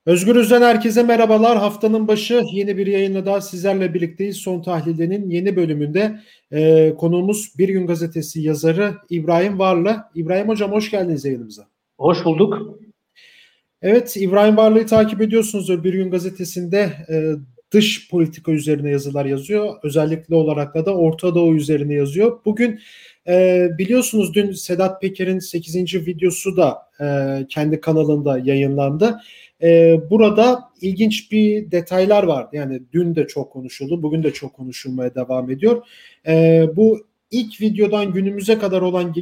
Özgürüz'den herkese merhabalar. Haftanın başı yeni bir yayınla daha sizlerle birlikteyiz. Son Tahlil'in yeni bölümünde konuğumuz Bir Gün Gazetesi yazarı İbrahim Varlı. İbrahim Hocam hoş geldiniz yayınımıza. Hoş bulduk. Evet, İbrahim Varlı'yı takip ediyorsunuzdur. Bir Gün Gazetesi'nde dış politika üzerine yazılar yazıyor. Özellikle olarak da Orta Doğu üzerine yazıyor. Bugün biliyorsunuz dün Sedat Peker'in 8. videosu da kendi kanalında yayınlandı. Burada ilginç bir detaylar vardı. Yani dün de çok konuşuldu, bugün de çok konuşulmaya devam ediyor. Bu ilk videodan günümüze kadar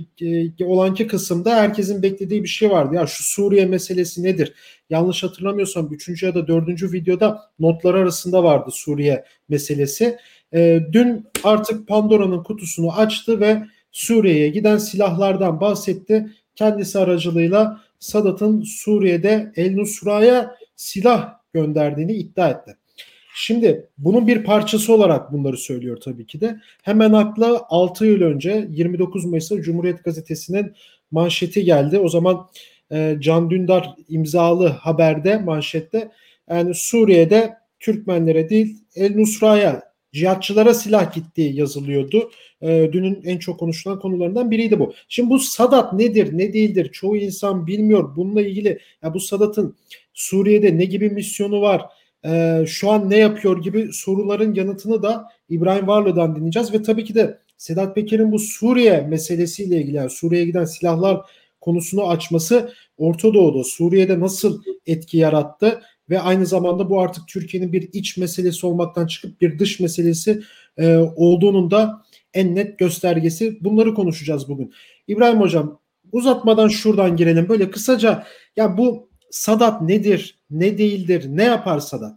olanki kısımda herkesin beklediği bir şey vardı. Ya şu Suriye meselesi nedir? Yanlış hatırlamıyorsam 3. ya da 4. videoda notlar arasında vardı Suriye meselesi. Dün artık Pandora'nın kutusunu açtı ve Suriye'ye giden silahlardan bahsetti. Kendisi aracılığıyla Sadat'ın Suriye'de El Nusra'ya silah gönderdiğini iddia etti. Şimdi bunun bir parçası olarak bunları söylüyor tabii ki de. Hemen akla 6 yıl önce 29 Mayıs'ta Cumhuriyet Gazetesi'nin manşeti geldi. O zaman Can Dündar imzalı haberde, manşette, yani Suriye'de Türkmenlere değil El Nusra'ya, cihatçılara silah gittiği yazılıyordu. Dünün en çok konuşulan konularından biriydi bu. Şimdi bu Sadat nedir, ne değildir? Çoğu insan bilmiyor. Bununla ilgili ya bu Sadat'ın Suriye'de ne gibi misyonu var? Şu an ne yapıyor gibi soruların yanıtını da İbrahim Varlı'dan dinleyeceğiz ve tabii ki de Sedat Peker'in bu Suriye meselesiyle ilgili, yani Suriye'ye giden silahlar konusunu açması Orta Doğu'da, Suriye'de nasıl etki yarattı ve aynı zamanda bu artık Türkiye'nin bir iç meselesi olmaktan çıkıp bir dış meselesi olduğunun da en net göstergesi. Bunları konuşacağız bugün. İbrahim Hocam, uzatmadan şuradan girelim. Böyle kısaca, ya bu Sadat nedir, ne değildir, ne yapar Sadat?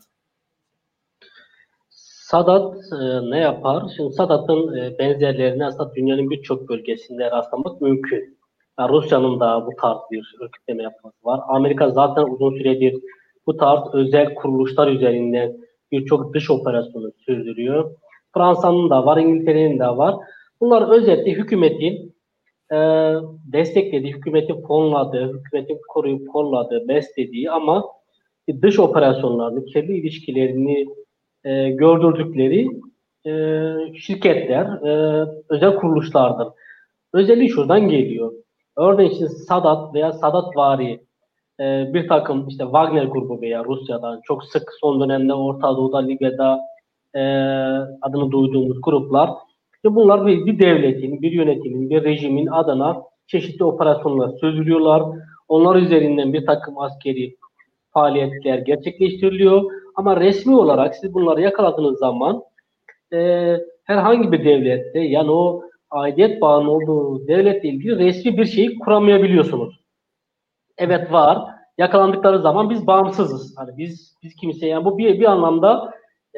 Sadat ne yapar? Şimdi Sadat'ın benzerlerini aslında dünyanın birçok bölgesinde rastlamak mümkün. Yani Rusya'nın da bu tarz bir örgütleme yapması var. Amerika zaten uzun süredir bu tarz özel kuruluşlar üzerinden birçok dış operasyonu sürdürüyor. Fransa'nın da var, İngiltere'nin de var. Bunlar özetle hükümetin e, desteklediği, hükümetin fonladığı, hükümetin koruyup kolladığı, beslediği ama dış operasyonlarını, kendi ilişkilerini gördürdükleri e, şirketler, özel kuruluşlardır. Özelliği şuradan geliyor. Örneğin işte Sadat veya Sadatvari bir takım işte Wagner grubu veya Rusya'dan çok sık son dönemde Orta Doğu'da, Libya'da e, adını duyduğumuz gruplar. İşte bunlar bir devletin, bir yönetimin, bir rejimin adına çeşitli operasyonlar sürdürüyorlar. Onlar üzerinden bir takım askeri faaliyetler gerçekleştiriliyor. Ama resmi olarak siz bunları yakaladığınız zaman e, herhangi bir devlette yani o aidiyet bağının olduğu devletle ilgili resmi bir şeyi kuramayabiliyorsunuz. Evet var. Yakalandıkları zaman biz bağımsızız. Hani biz kimse yani bu bir anlamda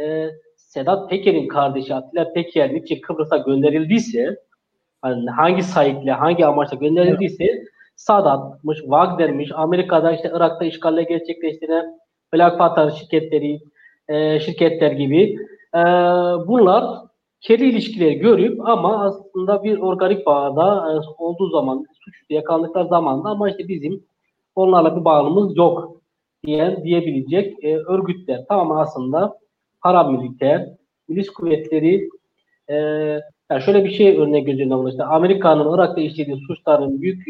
Sedat Peker'in kardeşi Atilla Peker niçin Kıbrıs'a gönderildiyse hani hangi sahiple, hangi amaçla gönderildiyse Sadat'mış, Wagner'miş, Amerika'da işte Irak'ta işgalle gerçekleştiren Black Panther şirketleri, şirketler gibi bunlar kirli ilişkileri görüp ama aslında bir organik bağda olduğu zaman, suçlu yakalandıkları zaman da ama işte bizim onlarla bir bağımız yok diyebilecek örgütler. Tamam aslında paramiliter, milis kuvvetleri e, yani şöyle bir şey örnek göz önüne alın. İşte Amerika'nın Irak'ta işlediği suçların büyük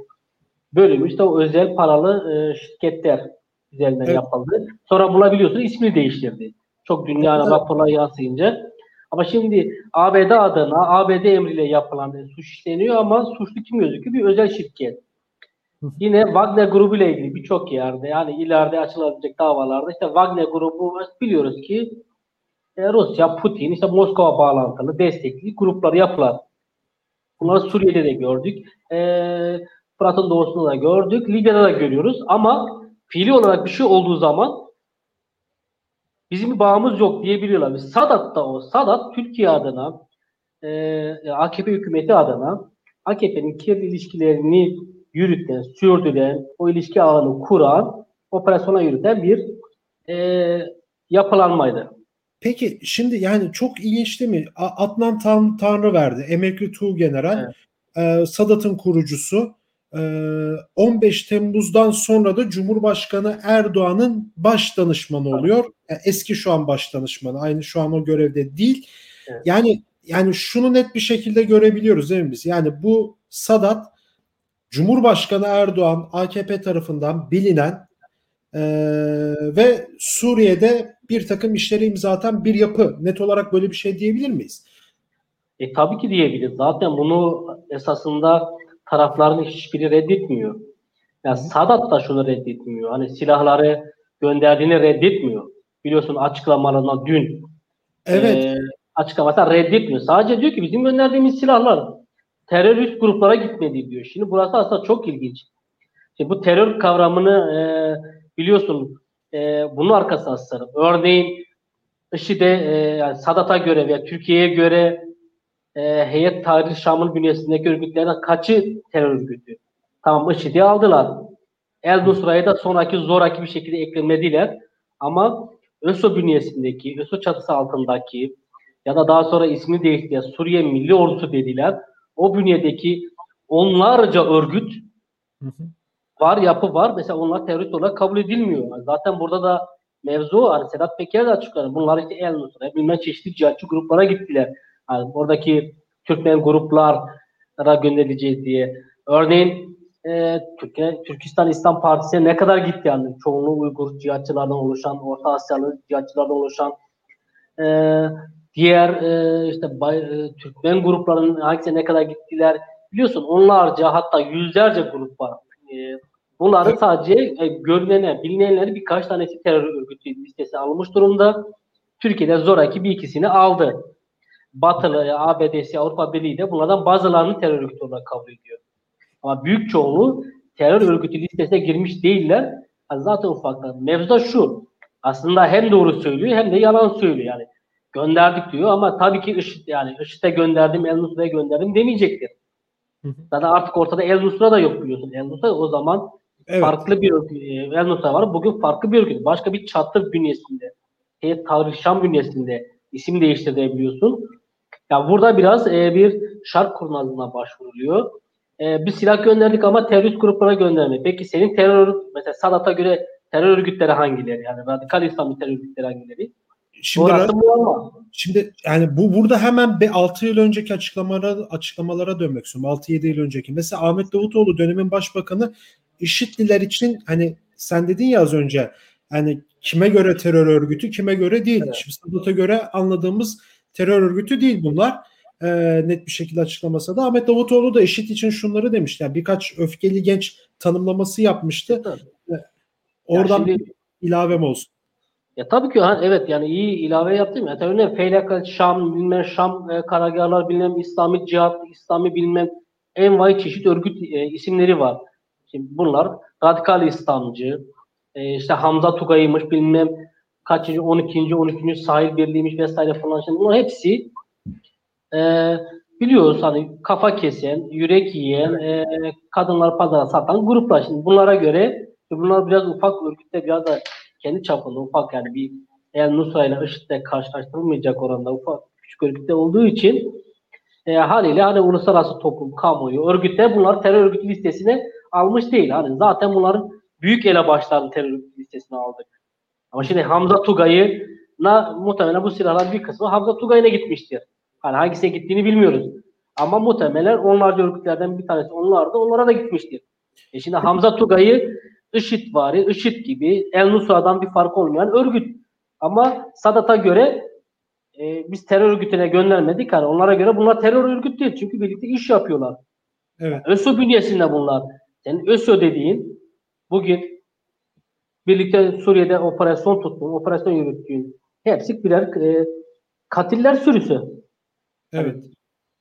bölümü işte o özel paralı şirketler üzerinden Evet. yapıldı. Sonra bulabiliyorsunuz ismini değiştirdi. Çok dünyana raporlar yansıyınca. Ama şimdi ABD adına ABD emriyle yapılan suç işleniyor ama suçlu kim gözüküyor? Bir özel şirket. Yine Wagner grubu ile ilgili birçok yerde yani ileride açılabilecek davalarda işte Wagner grubu biliyoruz ki Rusya, Putin, işte Moskova bağlantılı destekli gruplar yapılar. Bunları Suriye'de de gördük. Fırat'ın doğusunda da gördük. Libya'da da görüyoruz. Ama fiili olarak bir şey olduğu zaman bizim bir bağımız yok diyebiliyorlar. Sadat da o. Sadat Türkiye adına AKP hükümeti adına AKP'nin kirli ilişkilerini yürüten, sürdüren, o ilişki ağını kuran, operasyona yürüten bir yapılanmaydı. Peki şimdi yani çok ilginç değil mi? Adnan Tanrıverdi, emekli Tuğgeneral, Evet. Sadat'ın kurucusu. 15 Temmuz'dan sonra da Cumhurbaşkanı Erdoğan'ın baş danışmanı oluyor. Yani eski şu an baş danışmanı. Aynı şu an o görevde değil. Evet. Yani şunu net bir şekilde görebiliyoruz değil mi biz? Yani bu Sadat Cumhurbaşkanı Erdoğan AKP tarafından bilinen ve Suriye'de bir takım işleri imza atan bir yapı. Net olarak böyle bir şey diyebilir miyiz? Tabii ki diyebiliriz. Zaten bunu esasında tarafların hiçbiri reddetmiyor. Yani Sadat da şunu reddetmiyor. Hani silahları gönderdiğini reddetmiyor. Biliyorsun açıklamalarına dün Evet. e, açıklamasına reddetmiyor. Sadece diyor ki bizim gönderdiğimiz silahlar terörist gruplara gitmedi diyor. Şimdi burası aslında çok ilginç. Şimdi bu terör kavramını biliyorsun bunun arkasına sığınıp örneğin IŞİD'e yani Sadat'a göre veya Türkiye'ye göre Heyet Tahrir Şam'ın bünyesindeki örgütlerden kaçı terör örgütü? Tamam IŞİD'i aldılar. El Nusra'ya da sonraki zoraki bir şekilde eklemediler. Ama ÖSO bünyesindeki, ÖSO çatısı altındaki ya da daha sonra ismini değiştirdiler Suriye Milli Ordusu dediler. O bünyedeki onlarca örgüt var, yapı var. Mesela onlar terörist olarak kabul edilmiyor. Zaten burada da mevzu hani Sedat Peker de açıkladı. Bunlar işte El Nusra, bilmem çeşitli cihatçı gruplara gittiler. Yani oradaki Türkmen gruplara gönderileceğiz diye. Örneğin Türkistan İslam Partisi'ne ne kadar gitti yani çoğunluğu Uygur cihatçılardan oluşan, Orta Asyalı cihatçılardan oluşan e, diğer Türkmen gruplarının hangisine ne kadar gittiler biliyorsun onlarca hatta yüzlerce grup var. Bunların sadece görülene, bilinenleri birkaç tanesi terör örgütü listesi alınmış durumda. Türkiye'de zoraki bir ikisini aldı. Batılı, ABD'si, Avrupa Birliği de bunlardan bazılarını terör örgütü olarak kabul ediyor. Ama büyük çoğunluğu terör örgütü listesine girmiş değiller. Yani zaten ufaklar. Mevzu da şu. Aslında hem doğru söylüyor hem de yalan söylüyor. Yani gönderdik diyor ama tabii ki IŞİD'e gönderdim, El Nusra'ya gönderdim demeyecektir. Zaten artık ortada El Nusra da yok biliyorsun. El Nusra o zaman Evet. farklı bir örgüt. El Nusra var. Bugün farklı bir örgüt. Başka bir çatı bünyesinde. Tahrir Şam bünyesinde isim değiştirebiliyorsun. Ya burada biraz bir şark kurnazlığına başvuruluyor. Bir silah gönderdik ama terörist gruplara gönderme. Peki senin mesela Sadat'a göre terör örgütleri hangileri? Yani radikal İslamcı terör örgütleri hangileri? Şimdi Orası muamma. Şimdi yani burada hemen 6 yıl önceki açıklamalara dönmek istiyorum. 6-7 yıl önceki. Mesela Ahmet Davutoğlu dönemin başbakanı IŞİD'liler için hani sen dedin ya az önce hani kime göre terör örgütü kime göre değil. Evet. Şimdi Sadat'a göre anladığımız terör örgütü değil bunlar. Net bir şekilde açıklamasa da Ahmet Davutoğlu da IŞİD için şunları demişti. Yani birkaç öfkeli genç tanımlaması yapmıştı. Ya Oradan şimdi bir ilavem olsun. ya tabii ki evet yani iyi ilave yaptım ya. Tabii ne Feylak, Şam, bilmem Şam karargahlar bilmem İslami cihat, İslami bilmem envai çeşit örgüt isimleri var. Şimdi bunlar radikal İslamcı, işte Hamza Tugay'mış bilmem kaçıncı 12. sahil birliğiymiş vesaire falan. Şimdi bunlar hepsi e, biliyoruz hani kafa kesen, yürek yiyen, kadınlar pazara satan gruplar. Şimdi bunlara göre bunlar biraz ufak örgütte biraz da kendi çapında ufak yani bir El Nusra ile IŞİD'le karşılaştırılmayacak oranda ufak küçük örgütte olduğu için haliyle hani uluslararası toplum, kamuoyu, örgütler bunlar terör örgütü listesine almış değil. Hani zaten bunların büyük elebaşlarını terör örgütü listesine aldık. Ama şimdi Hamza Tugay'ına muhtemelen bu silahların bir kısmı Hamza Tugay'ına gitmiştir. Hani hangisine gittiğini bilmiyoruz. Ama muhtemelen onlarca örgütlerden bir tanesi onlar da onlara da gitmiştir. Şimdi Hamza Tugay'ı IŞİD gibi El Nusra'dan bir fark olmayan örgüt. Ama Sadat'a göre biz terör örgütüne göndermedik. Hani onlara göre bunlar terör örgütü değil. Çünkü birlikte iş yapıyorlar. Yani Evet. ÖSO bünyesinde bunlar. Senin ÖSO dediğin bugün birlikte Suriye'de operasyon tuttuğun, operasyon yürüttüğün hepsi birer katiller sürüsü. Evet. Hani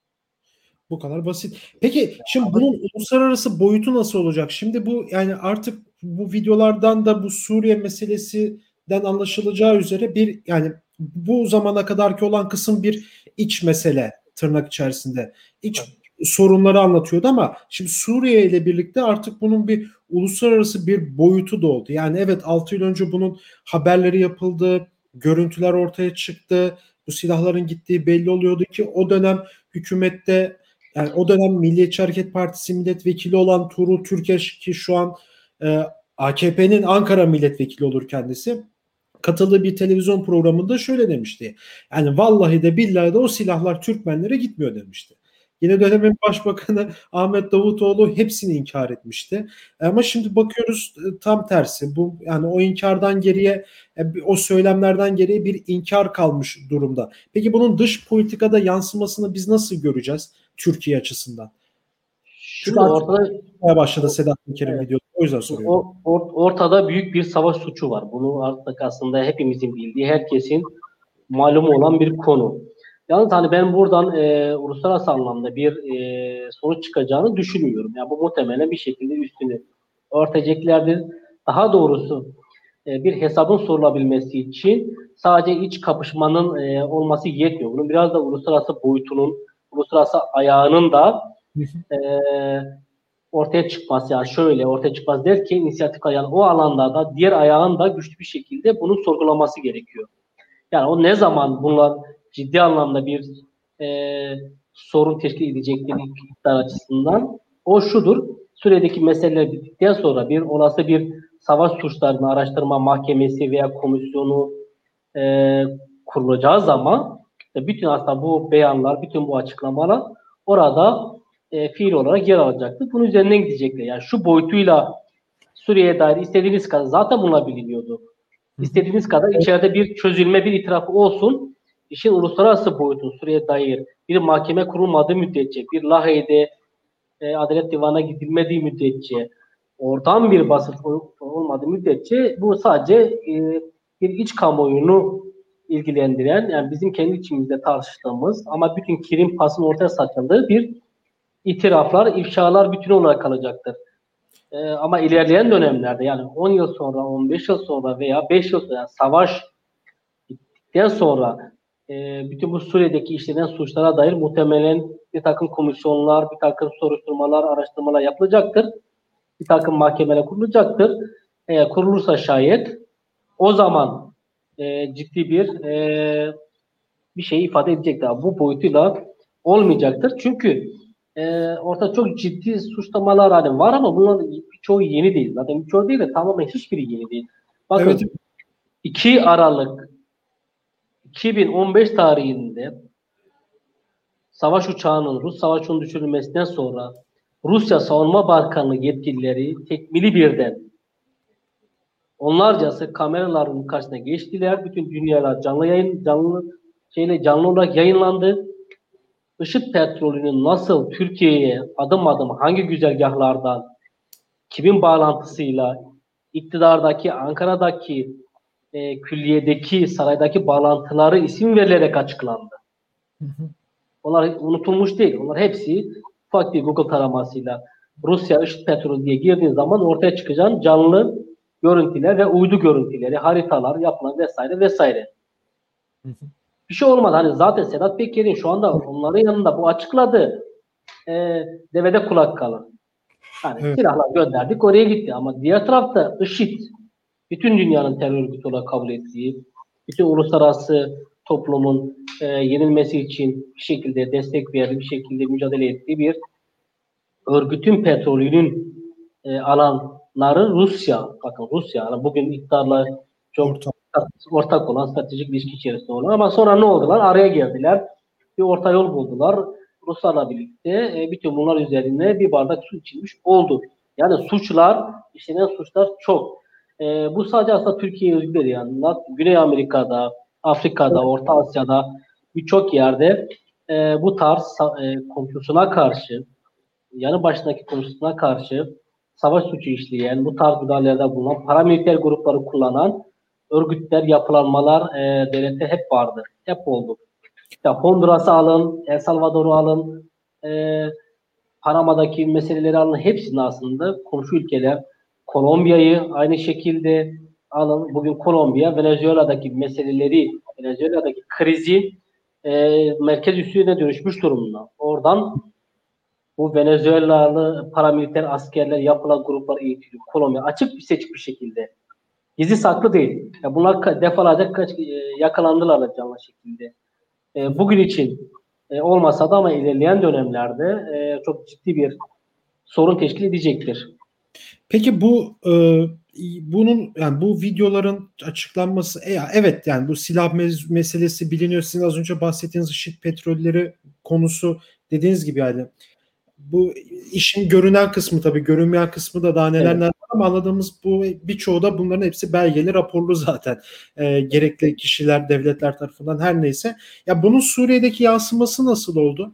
Bu kadar basit. Peki şimdi bunun uluslararası boyutu nasıl olacak? Şimdi bu yani artık bu videolardan da bu Suriye meselesinden anlaşılacağı üzere bir yani bu zamana kadarki olan kısım bir iç mesele tırnak içerisinde. İç sorunları anlatıyordu ama şimdi Suriye ile birlikte artık bunun bir uluslararası bir boyutu da oldu. Yani evet 6 yıl önce bunun haberleri yapıldı, görüntüler ortaya çıktı. Bu silahların gittiği belli oluyordu ki o dönem hükümette Yani o dönem Milliyetçi Hareket Partisi milletvekili olan Tuğrul Türkeş, ki şu an AKP'nin Ankara milletvekili olur kendisi, katıldığı bir televizyon programında şöyle demişti. Yani vallahi de billahi de o silahlar Türkmenlere gitmiyor demişti. Yine dönemin başbakanı Ahmet Davutoğlu hepsini inkar etmişti. Ama şimdi bakıyoruz tam tersi. Bu yani o inkardan geriye, o söylemlerden geriye bir inkar kalmış durumda. Peki bunun dış politikada yansımasını biz nasıl göreceğiz Türkiye açısından? Çünkü Şimdi artık ortada başladı Sedat Peker'in evet, videosu. O yüzden soruyorum. ortada büyük bir savaş suçu var. Bunu artık aslında hepimizin bildiği, herkesin malumu olan bir konu. Yalnız hani ben buradan uluslararası anlamda bir sonuç çıkacağını düşünmüyorum. Yani bu muhtemelen bir şekilde üstünü örteceklerdir. Daha doğrusu bir hesabın sorulabilmesi için sadece iç kapışmanın olması yetmiyor. Bunun biraz da uluslararası boyutunun, uluslararası ayağının da e, ortaya çıkması, yani şöyle ortaya çıkmaz derken inisiyatif ayağın o alanda da diğer ayağın da güçlü bir şekilde bunu sorgulaması gerekiyor. Yani o ne zaman bunlar ciddi anlamda bir e, sorun teşkil edecektir iktidar açısından, o şudur: Suriye'deki meseleler bittikten sonra bir olası bir savaş suçlarını araştırma mahkemesi veya komisyonu e, kurulacağı zaman bütün aslında bu beyanlar, bütün bu açıklamalar orada fiil olarak yer alacaktır. Bunun üzerinden gidecekler. Yani şu boyutuyla Suriye'ye dair istediğiniz kadar, zaten bunlar biliniyordu. İstediğiniz kadar içeride bir çözülme, bir itirafı olsun. İşin uluslararası boyutu Suriye'ye dair bir mahkeme kurulmadığı müddetçe, bir Lahey'de Adalet Divanı'na gidilmediği müddetçe, oradan bir basın olmadığı müddetçe bu sadece bir iç kamuoyunu ilgilendiren, yani bizim kendi içimizde tartıştığımız ama bütün kirin pasın ortaya saçıldığı bir itiraflar, ifşalar bütünü olarak kalacaktır. Ama ilerleyen dönemlerde, yani 10 yıl sonra, 15 yıl sonra veya 5 yıl sonra, yani savaş bittikten sonra bütün bu Suriye'deki işlenen suçlara dair muhtemelen bir takım komisyonlar, bir takım soruşturmalar, araştırmalar yapılacaktır. Bir takım mahkemeler kurulacaktır. Eğer kurulursa şayet, o zaman ciddi bir şey ifade edecektir. Bu boyutuyla olmayacaktır. Çünkü ortada çok ciddi suçlamalar hani var ama bunların birçoğu yeni değil. Zaten birçoğu değil de tamamen hiçbiri yeni değil. Evet. Bakın, 2 Aralık 2015 tarihinde savaş uçağının, Rus savaş uçağının düşürülmesinden sonra Rusya Savunma Bakanlığı yetkilileri tekmili birden onlarcası kameraların karşısına geçtiler. Bütün dünyada canlı olarak yayınlandı. IŞİD petrolünün nasıl Türkiye'ye adım adım hangi güzergahlardan, kimin bağlantısıyla iktidardaki, Ankara'daki, külliyedeki, saraydaki bağlantıları isim verilerek açıklandı. Onlar unutulmuş değil. Onlar hepsi ufak bir Google taramasıyla Rusya IŞİD petrolü diye girdiğin zaman ortaya çıkacağın canlı görüntüler ve uydu görüntüleri, haritalar, yapılan vesaire vesaire. Bir şey olmadı. Hani zaten Sedat Peker'in şu anda onların yanında bu açıkladı. Devede kulak kalın. Hani Evet. silahlar gönderdik, oraya gitti. Ama diğer tarafta IŞİD, bütün dünyanın terör örgütü olarak kabul ettiği, bütün uluslararası toplumun yenilmesi için bir şekilde destek verdiği, bir şekilde mücadele ettiği bir örgütün petrolünün alanları Rusya. Bakın Rusya, yani bugün iktidarla çok Orta. ortak olan, stratejik ilişki içerisinde olan, ama sonra ne oldular? Araya girdiler. Bir orta yol buldular. Ruslarla birlikte bütün bunlar üzerine bir bardak su içilmiş oldu. Yani suçlar, işlenen suçlar çok. Bu sadece aslında Türkiye'ye özgü değil. Yani Güney Amerika'da, Afrika'da, Orta Asya'da birçok yerde bu tarz komşusuna karşı, yanı başındaki komşusuna karşı savaş suçu işleyen, bu tarz müdahalelerde bulunan, paramiliter grupları kullanan örgütler, yapılanmalar devlette hep vardı. Hep oldu. İşte Honduras'ı alın, El Salvador'u alın, Panama'daki meseleleri alın. Hepsinin aslında komşu ülkeler. Kolombiya'yı aynı şekilde alın. Bugün Kolombiya, Venezuela'daki meseleleri, Venezuela'daki krizi merkez üssüne dönüşmüş durumda. Oradan bu Venezuelalı paramiliter askerler, yapılan gruplar eğitiliyor. Kolombiya açık bir seçik bir şekilde. Gizli saklı değil. Ya bunlar defalarca yakalandılar da canlı şekilde. Bugün için Olmasa da ama ilerleyen dönemlerde çok ciddi bir sorun teşkil edecektir. Peki bunun yani bu videoların açıklanması evet yani bu silah meselesi biliniyor. Sizin az önce bahsettiğiniz IŞİD petrolleri konusu dediğiniz gibi yani bu işin görünen kısmı, tabii görünmeyen kısmı da daha neler Evet. neler var ama anladığımız bu birçoğu da bunların hepsi belgeli, raporlu zaten. Gerekli kişiler, devletler tarafından her neyse. Ya bunun Suriye'deki yansıması nasıl oldu?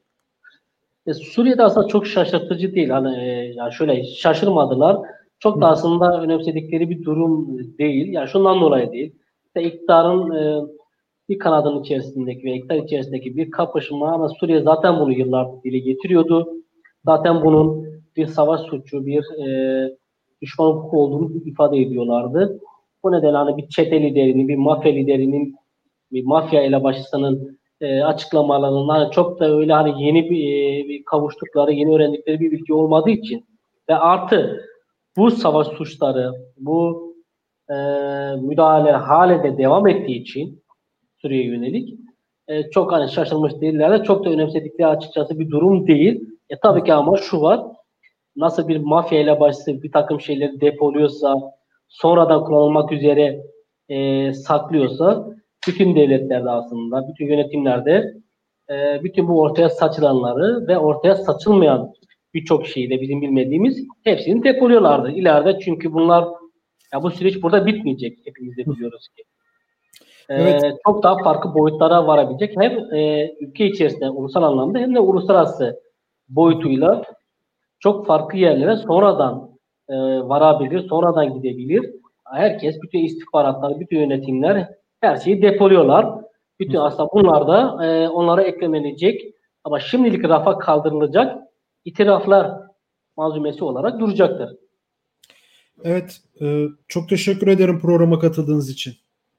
Suriye'de aslında çok şaşırtıcı değil. Hani yani şöyle şaşırmadılar. Çok da aslında önemsedikleri bir durum değil. Yani şundan dolayı değil. İşte iktidarın bir kanadın içerisindeki ve iktidar içerisindeki bir kapışma, ama Suriye zaten bunu yıllardır dile getiriyordu. Zaten bunun bir savaş suçu, bir düşman hukuku olduğunu ifade ediyorlardı. Bu nedenle hani bir çete liderinin, bir mafya liderinin, bir mafya elebaşısının açıklamalarının hani çok da öyle hani yeni bir kavuştukları, yeni öğrendikleri bir bilgi olmadığı için ve artı bu savaş suçları, bu e, müdahale hale de devam ettiği için Suriye'ye yönelik çok hani şaşırmış değiller de çok da önemsedikleri açıkçası bir durum değil. Tabii ki ama şu var, nasıl bir mafya elebaşısı bir takım şeyleri depoluyorsa, sonradan kullanılmak üzere saklıyorsa, bütün devletlerde aslında, bütün yönetimlerde bütün bu ortaya saçılanları ve ortaya saçılmayan birçok şeyi de bizim bilmediğimiz hepsini depoluyorlardı ileride, çünkü bunlar, ya bu süreç burada bitmeyecek, hepimiz de biliyoruz ki. Evet. Çok daha farklı boyutlara varabilecek, hem ülke içerisinde ulusal anlamda hem de uluslararası boyutuyla çok farklı yerlere sonradan varabilir, sonradan gidebilir. Herkes, bütün istihbaratlar, bütün yönetimler her şeyi depoluyorlar. Bütün aslında bunlar da onlara eklenecek ama şimdilik rafa kaldırılacak itiraflar malzumesi olarak duracaktır. Evet, çok teşekkür ederim programa katıldığınız için.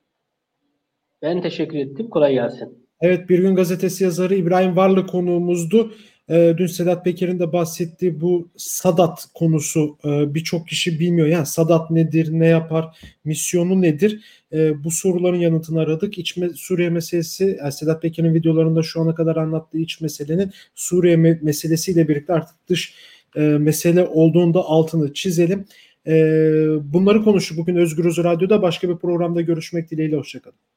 Ben teşekkür ettim. Kolay gelsin. Evet, Bir Gün Gazetesi yazarı İbrahim Varlı konuğumuzdu. Dün Sedat Peker'in de bahsettiği bu Sadat konusu birçok kişi bilmiyor. Yani Sadat nedir, ne yapar, misyonu nedir? Bu soruların yanıtını aradık. Suriye meselesi, yani Sedat Peker'in videolarında şu ana kadar anlattığı iç meselenin Suriye meselesiyle birlikte artık dış mesele olduğunda altını çizelim. Bunları konuştuk bugün Özgür Radyo'da. Başka bir programda görüşmek dileğiyle. Hoşçakalın.